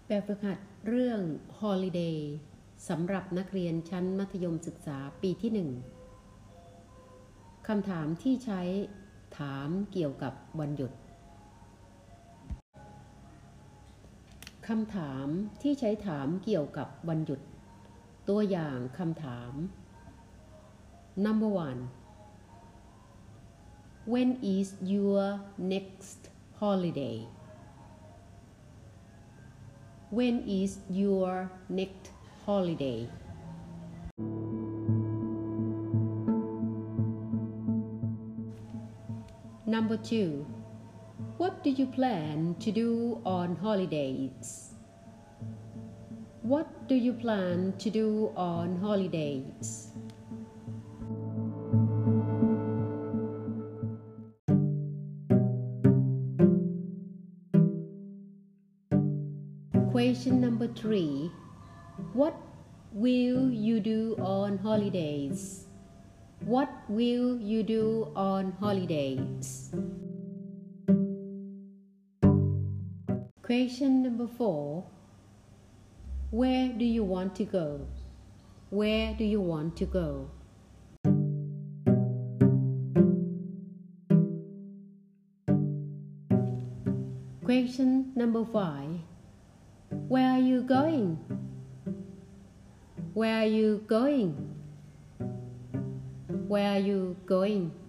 แบบฝึกหัดเรื่อง Holiday สำหรับนักเรียนชั้นมัธยมศึกษาปีที่ 1 คำถามที่ใช้ถามเกี่ยวกับวันหยุดคำถามที่ใช้ถามเกี่ยวกับวันหยุดตัวอย่างคำถาม Number 1 When is your next holiday? When is your next holiday? Number 2. What do you plan to do on holidays? What do you plan to do on holidays? Question number 3. What will you do on holidays? What will you do on holidays? Question number 4. Where do you want to go? Where do you want to go? Question number 5. Where are you going? Where are you going? Where are you going?